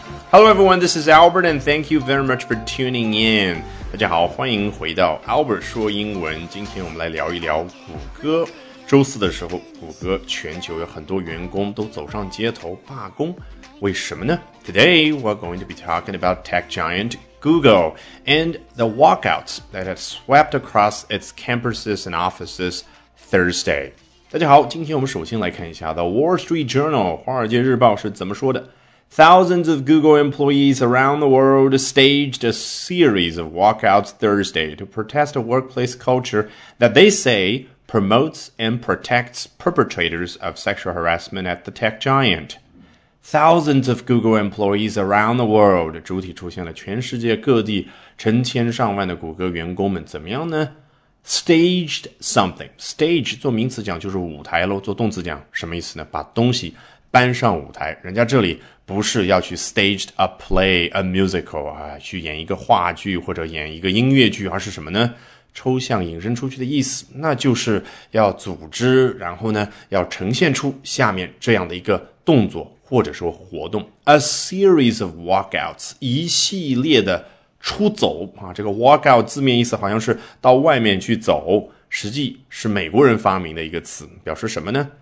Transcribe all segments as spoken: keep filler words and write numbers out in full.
Hello everyone, this is Albert and thank you very much for tuning in. 大家好，欢迎回到 Albert 说英文。今天我们来聊一聊谷歌。周四的时候，谷歌全球有很多员工都走上街头罢工，为什么呢？ Today we're going to be talking about tech giant Google and the walkouts that have swept across its campuses and offices Thursday. 大家好，今天我们首先来看一下 The Wall Street Journal 华尔街日报是怎么说的。Thousands of Google employees around the world staged a series of walkouts Thursday to protest a workplace culture that they say promotes and protects perpetrators of sexual harassment at the tech giant. Thousands of Google employees around the world 主体出现了全世界各地成千上万的谷歌员工们怎么样呢？ Staged something. Stage 做名词讲就是舞台咯，做动词讲什么意思呢？把东西搬上舞台。人家这里不是要去 staged a play, a musical 啊，去演一个话剧或者演一个音乐剧，而是什么呢？抽象引申出去的意思，那就是要组织，然后呢，要呈现出下面这样的一个动作或者说活动。A series of walkouts, 一系列的出走啊，这个 walkout 字面意思好像是到外面去走，实际是美国人发明的一个词，表示什么呢？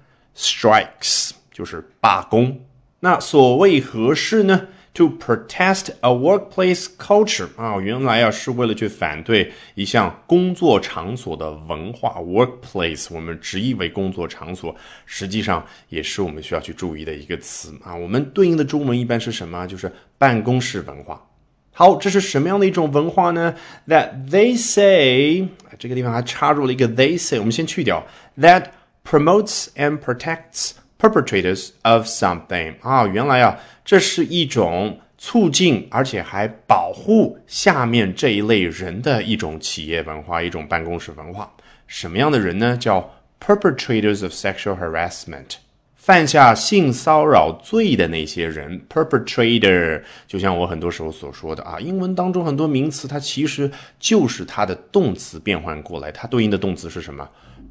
Strikes 就是罢工。那所谓何事呢？ To protest a workplace culture 啊，原来啊是为了去反对一项工作场所的文化 workplace 我们直译为工作场所，实际上也是我们需要去注意的一个词啊。我们对应的中文一般是什么？就是办公室文化。好，这是什么样的一种文化呢？ That they say 这个地方还插入了一个 they say 我们先去掉 That promotes and protects perpetrators of something 啊，原来啊，这是一种促进而且还保护下面这一类人的一种企业文化，一种办公室文化。什么样的人呢？叫 perpetrators of sexual harassment， 犯下性骚扰罪的那些人 perpetrator， 就像我很多时候所说的啊，英文当中很多名词它其实就是它的动词变换过来，它对应的动词是什么？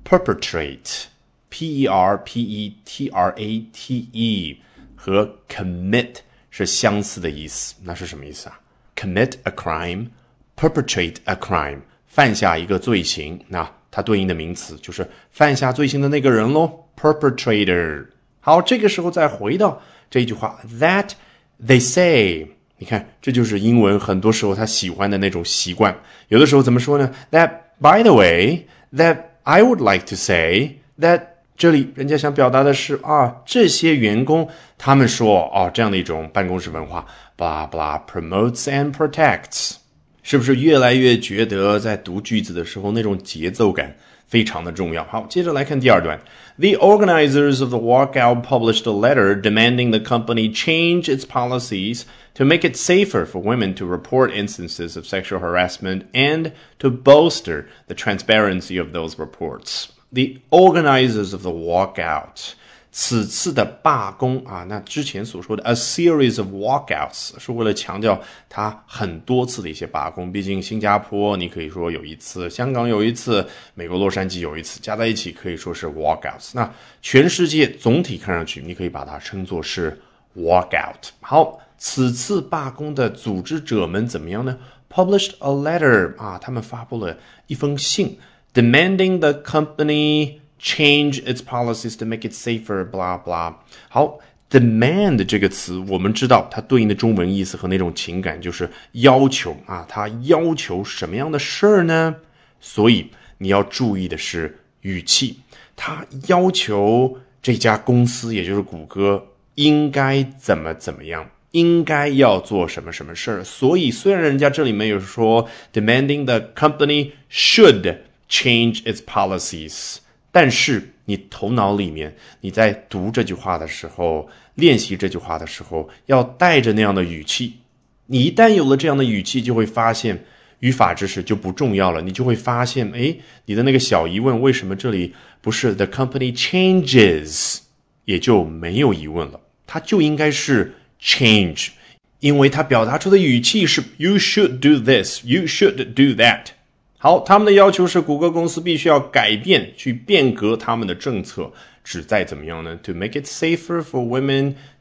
perpetrate，P E R P E T R A T E 和 commit 是相似的意思，那是什么意思啊？ Commit a crime, perpetrate a crime 犯下一个罪行，那它对应的名词就是犯下罪行的那个人咯 perpetrator。 好，这个时候再回到这一句话 That they say， 你看这就是英文很多时候他喜欢的那种习惯，有的时候怎么说呢？ That by the way, that I would like to say that这里人家想表达的是啊，这些员工他们说哦，这样的一种办公室文化 blah blah promotes and protects， 是不是越来越觉得在读句子的时候那种节奏感非常的重要？好，接着来看第二段。 The organizers of the walkout published a letter demanding the company change its policies to make it safer for women to report instances of sexual harassment and to bolster the transparency of those reports.The organizers of the walkout 此次的罢工啊，那之前所说的 a series of walkouts 是为了强调它很多次的一些罢工，毕竟新加坡你可以说有一次，香港有一次，美国洛杉矶有一次，加在一起可以说是 walkouts， 那全世界总体看上去你可以把它称作是 walkout。 好，此次罢工的组织者们怎么样呢？ Published a letter 啊，他们发布了一封信demanding the company change its policies to make it safer, blah blah. 好 demand 这个词我们知道它对应的中文意思和那种情感就是要求啊，它要求什么样的事儿呢？所以你要注意的是语气，它要求这家公司也就是谷歌应该怎么怎么样，应该要做什么什么事儿。所以虽然人家这里没有说 demanding the company should change its policies， 但是你头脑里面你在读这句话的时候，练习这句话的时候要带着那样的语气，你一旦有了这样的语气就会发现语法知识就不重要了，你就会发现诶，你的那个小疑问为什么这里不是 the company changes 也就没有疑问了，它就应该是 change， 因为它表达出的语气是 you should do this, you should do that。好，他们的要求是谷歌公司必须要改变，去变革他们的政策，旨在怎么样呢？ To make it safer for women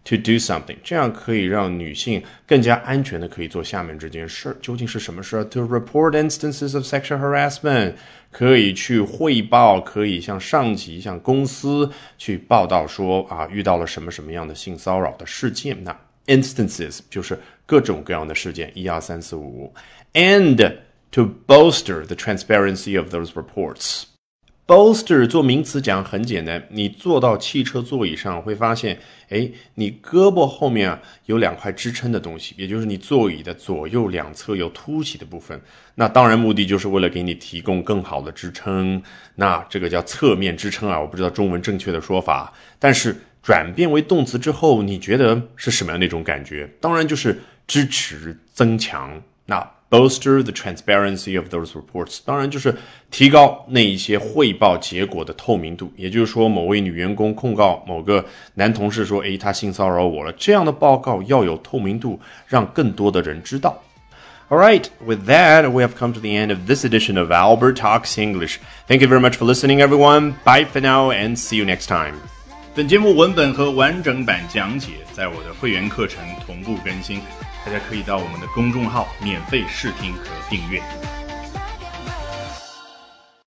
to do something， 这样可以让女性更加安全的可以做下面这件事。究竟是什么事 ？To report instances of sexual harassment， 可以去汇报，可以向上级、向公司去报道说啊，遇到了什么什么样的性骚扰的事件。那 instances 就是各种各样的事件，一二三四五 ，and to bolster the transparency of those reports。bolster 做名词讲很简单，你坐到汽车座椅上会发现，诶，你胳膊后面啊有两块支撑的东西，也就是你座椅的左右两侧有凸起的部分。那当然目的就是为了给你提供更好的支撑，那这个叫侧面支撑啊，我不知道中文正确的说法，但是转变为动词之后，你觉得是什么样的一种感觉？当然就是支持、增强。那bolster the transparency of those reports， 当然就是提高那一些汇报结果的透明度，也就是说某位女员工控告某个男同事说，诶，他性骚扰我了，这样的报告要有透明度，让更多的人知道。Alright, with that, we have come to the end of this edition of Albert Talks English. Thank you very much for listening, everyone. Bye for now and see you next time. 本节目文本和完整版讲解在我的会员课程同步更新，大家可以到我们的公众号免费试听和订阅。